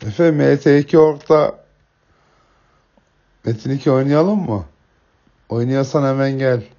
Efe MT2 Org'da Metin 2 oynayalım mı? Oynuyorsan hemen gel.